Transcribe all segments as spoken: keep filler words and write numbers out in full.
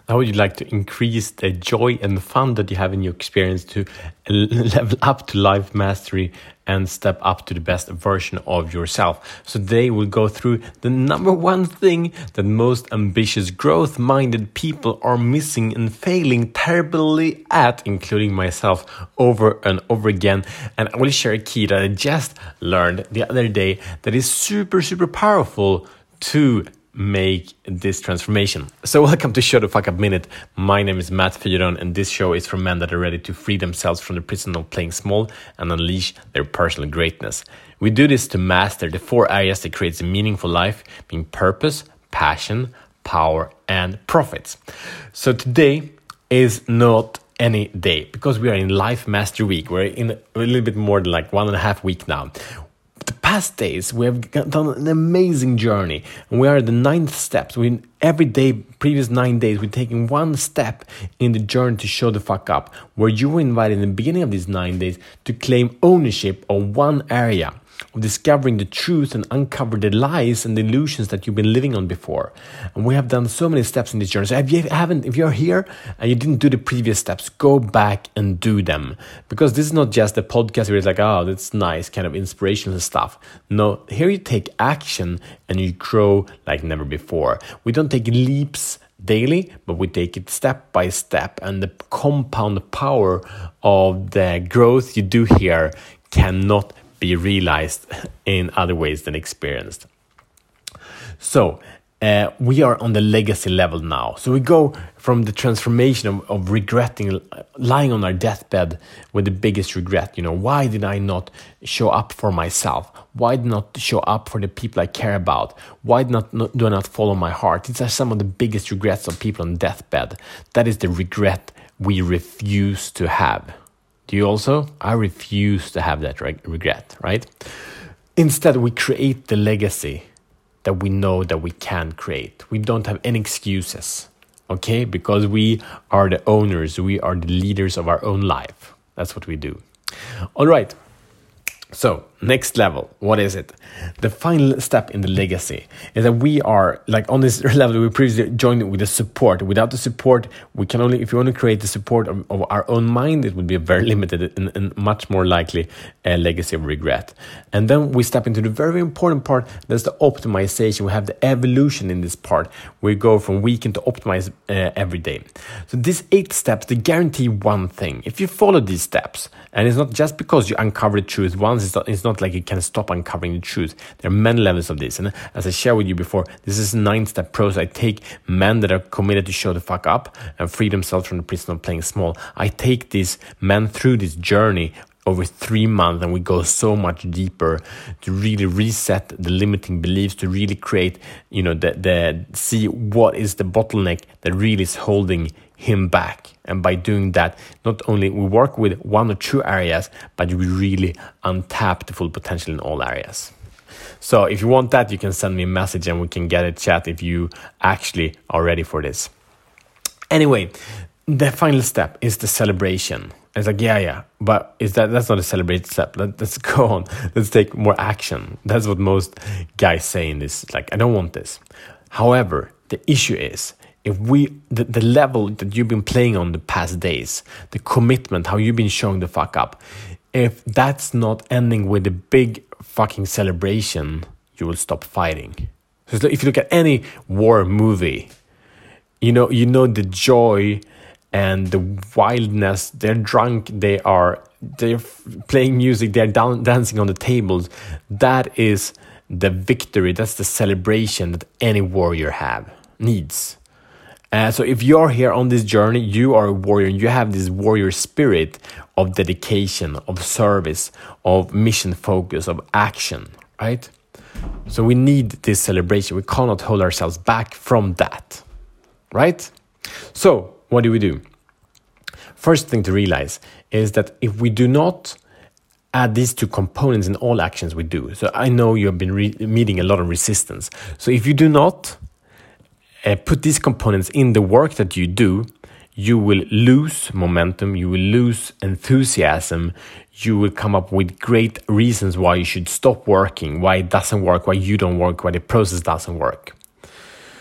How would you like to increase the joy and fun that you have in your experience to level up to life mastery and step up to the best version of yourself? So today we'll go through the number one thing that most ambitious, growth-minded people are missing and failing terribly at, including myself, over and over again. And I will share a key that I just learned the other day that is super, super powerful to make this transformation. So welcome to Show the Fuck Up Minute. My name is Matt Fyron, and this show is for men that are ready to free themselves from the prison of playing small and unleash their personal greatness. We do this to master the four areas that creates a meaningful life, being purpose, passion, power, and profits. So today is not any day because we are in Life Master Week. We're in a little bit more than like one and a half week now. The past days, we have done an amazing journey, and we are at the ninth steps. We every day, previous nine days, we're taking one step in the journey to show the fuck up, where you were invited in the beginning of these nine days to claim ownership of one area, of discovering the truth and uncover the lies and the illusions that you've been living on before. And we have done so many steps in this journey. So if you haven't, if you're here and you didn't do the previous steps, go back and do them. Because this is not just a podcast where it's like, oh, that's nice, kind of inspirational stuff. No, here you take action and you grow like never before. We don't take leaps daily, but we take it step by step. And the compound power of the growth you do here cannot be realized in other ways than experienced. So uh, we are on the legacy level now. So we go from the transformation of, of regretting, lying on our deathbed with the biggest regret. You know, why did I not show up for myself? Why did I not show up for the people I care about? Why did not, not, do I not follow my heart? These are some of the biggest regrets of people on deathbed. That is the regret we refuse to have. Do you also? I refuse to have that reg- regret, right? Instead, we create the legacy that we know that we can create. We don't have any excuses, okay? Because we are the owners. We are the leaders of our own life. That's what we do. All right. So, next level, what is it? The final step in the legacy is that we are, like on this level, we previously joined with the support. Without the support, we can only, if you want to create the support of, of our own mind, it would be a very limited and, and much more likely a legacy of regret. And then we step into the very important part, that's the optimization. We have the evolution in this part. We go from weekend to optimize uh, every day. So these eight steps, they guarantee one thing. If you follow these steps, and it's not just because you uncover the truth once, it's not, it's not like you can stop uncovering the truth. There are many levels of this. And as I shared with you before, this is a nine-step process. I take men that are committed to show the fuck up and free themselves from the prison of playing small. I take these men through this journey over three months, and we go so much deeper to really reset the limiting beliefs, to really create, you know, the, the see what is the bottleneck that really is holding him back. And by doing that, not only we work with one or two areas, but we really untap the full potential in all areas. So if you want that, you can send me a message and we can get a chat if you actually are ready for this. Anyway, the final step is the celebration. It's like, yeah, yeah, but is that that's not a celebrated step. Let, let's go on. Let's take more action. That's what most guys say in this. Like, I don't want this. However, the issue is, if we, the, the level that you've been playing on the past days, the commitment, how you've been showing the fuck up, if that's not ending with a big fucking celebration, you will stop fighting. So if you look at any war movie, you know, you know the joy and the wildness. They're drunk, they are, they're playing music, they're down, dancing on the tables. That is the victory, that's the celebration that any warrior have, needs. Uh, so if you're here on this journey, you are a warrior, and you have this warrior spirit of dedication, of service, of mission focus, of action, right? So we need this celebration. We cannot hold ourselves back from that, right? So what do we do? First thing to realize is that if we do not add these two components in all actions we do, so I know you have been re- meeting a lot of resistance. So if you do not Uh, put these components in the work that you do, you will lose momentum, you will lose enthusiasm, you will come up with great reasons why you should stop working, why it doesn't work, why you don't work, why the process doesn't work.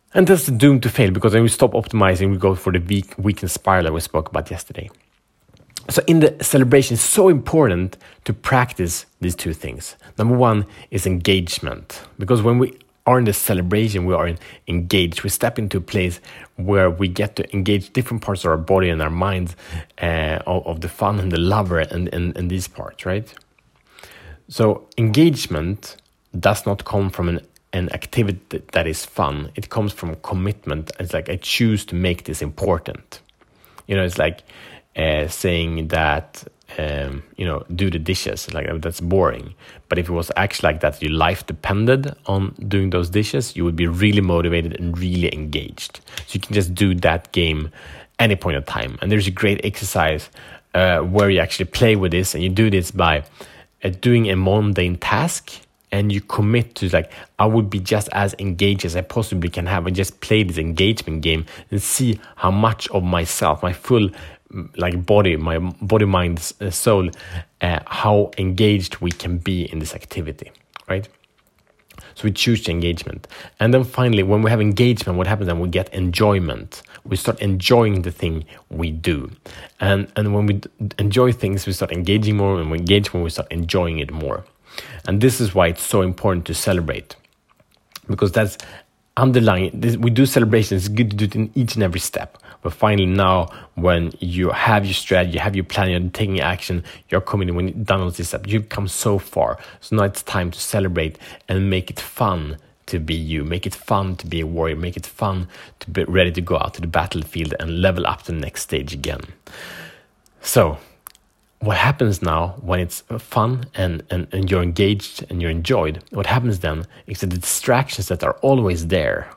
And that's doomed to fail, because when we stop optimizing, we go for the weak, weekend spiral that we spoke about yesterday. So in the celebration, it's so important to practice these two things. Number one is engagement, because when we are in the celebration, we are in, engaged. We step into a place where we get to engage different parts of our body and our minds, uh, of, of the fun and the lover and, and, and these parts, right? So engagement does not come from an, an activity that is fun. It comes from commitment. It's like, I choose to make this important. You know, it's like uh, saying that, um, you know, do the dishes. Like, that's boring. But if it was actually like that, your life depended on doing those dishes, you would be really motivated and really engaged. So you can just do that game any point of time. And there's a great exercise uh, where you actually play with this, and you do this by uh, doing a mundane task, and you commit to, like, I would be just as engaged as I possibly can have, and just play this engagement game and see how much of myself, my full like body, my body, mind, soul, uh, how engaged we can be in this activity, right? So we choose the engagement. And then finally, when we have engagement, what happens then? We get enjoyment. We start enjoying the thing we do. And and when we d- enjoy things, we start engaging more. When we engage more, we start enjoying it more. And this is why it's so important to celebrate, because that's underlying. This, we do celebrations. It's good to do it in each and every step. But finally, now when you have your strategy, you have your plan, you're taking action, you're committing, when you've done all these steps, you've come so far. So now it's time to celebrate and make it fun to be you. Make it fun to be a warrior. Make it fun to be ready to go out to the battlefield and level up to the next stage again. So what happens now when it's fun and, and, and you're engaged and you're enjoyed, what happens then is that the distractions that are always there,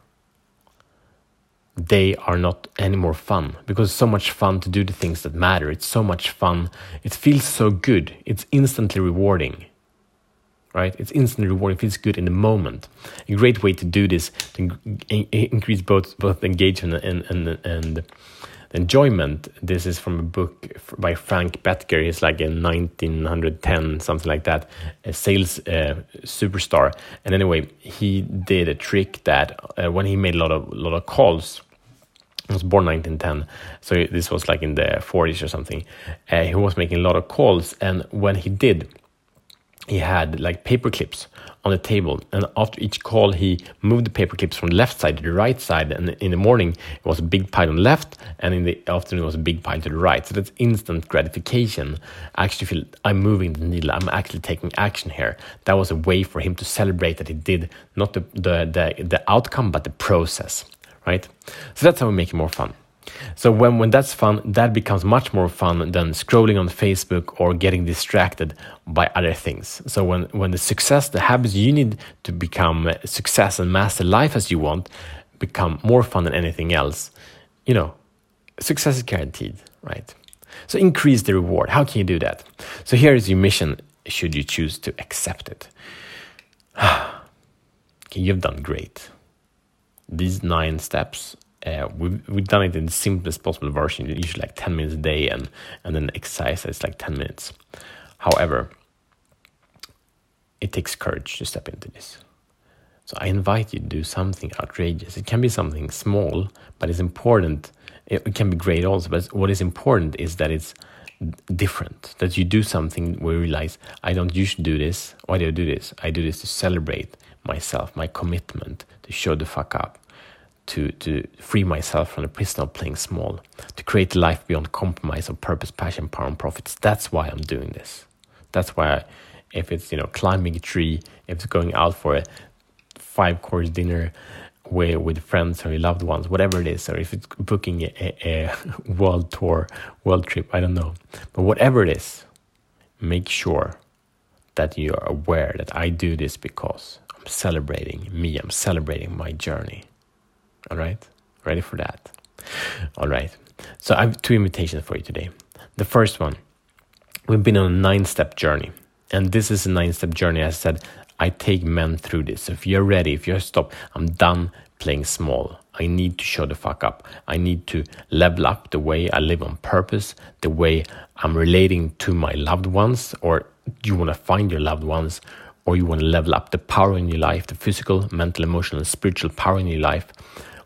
they are not any more fun, because it's so much fun to do the things that matter. It's so much fun. It feels so good. It's instantly rewarding, right? It's instantly rewarding. It feels good in the moment. A great way to do this, to increase both both engagement and and and enjoyment. This is from a book by Frank Bettger. He's like in nineteen ten, something like that, a sales uh, superstar. And anyway, he did a trick that uh, when he made a lot of lot of calls. He was born nineteen ten, so this was like in the forties or something. Uh, he was making a lot of calls, and when he did, he had like paper clips on the table, and after each call, he moved the paper clips from the left side to the right side. And in the morning, it was a big pile on the left, and in the afternoon, it was a big pile to the right. So that's instant gratification. I actually feel I'm moving the needle. I'm actually taking action here. That was a way for him to celebrate that he did not the the the, the outcome, but the process. Right? So that's how we make it more fun. So when, when that's fun, that becomes much more fun than scrolling on Facebook or getting distracted by other things. So when, when the success, the habits you need to become a success and master life as you want, become more fun than anything else, you know, success is guaranteed, right? So increase the reward. How can you do that? So here is your mission, should you choose to accept it. Okay, you've done great. These nine steps, uh, we've, we've done it in the simplest possible version, usually like ten minutes a day, and, and then exercise is like ten minutes. However, it takes courage to step into this. So I invite you to do something outrageous. It can be something small, but it's important. It, it can be great also, but what is important is that it's different, that you do something where you realize, I don't usually do this. Why do I do this? I do this to celebrate myself, my commitment, to show the fuck up, to to free myself from the prison of playing small, to create a life beyond compromise of purpose, passion, power, and profits. That's why I'm doing this. That's why, I, if it's, you know, climbing a tree, if it's going out for a five-course dinner with, with friends or your loved ones, whatever it is, or if it's booking a, a, a world tour, world trip, I don't know. But whatever it is, make sure that you are aware that I do this because I'm celebrating me, I'm celebrating my journey. All right? Ready for that? All right. So I have two invitations for you today. The first one, we've been on a nine-step journey. And this is a nine-step journey. As I said, I take men through this. So if you're ready, if you're stopped, I'm done playing small. I need to show the fuck up. I need to level up the way I live on purpose, the way I'm relating to my loved ones, or you want to find your loved ones, or you want to level up the power in your life, the physical, mental, emotional, and spiritual power in your life,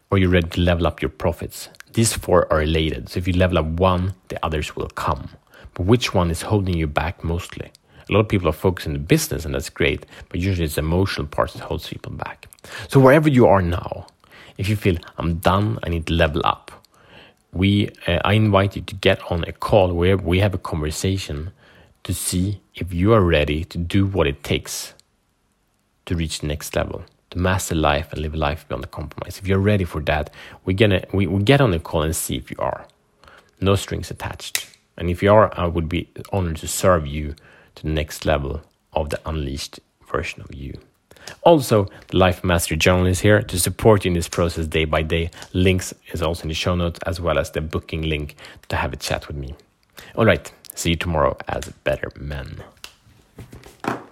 or you're ready to level up your profits. These four are related. So if you level up one, the others will come. But which one is holding you back mostly? A lot of people are focused on the business, and that's great, but usually it's the emotional parts that holds people back. So wherever you are now, if you feel I'm done, I need to level up, we uh, I invite you to get on a call where we have a conversation to see if you are ready to do what it takes to reach the next level, to master life and live a life beyond the compromise. If you're ready for that, we're gonna we, we get on a call and see if you are. No strings attached. And if you are, I would be honored to serve you to the next level of the unleashed version of you. Also, the Life Mastery Journal is here to support you in this process day by day. Links is also in the show notes, as well as the booking link to have a chat with me. All right, see you tomorrow as better men.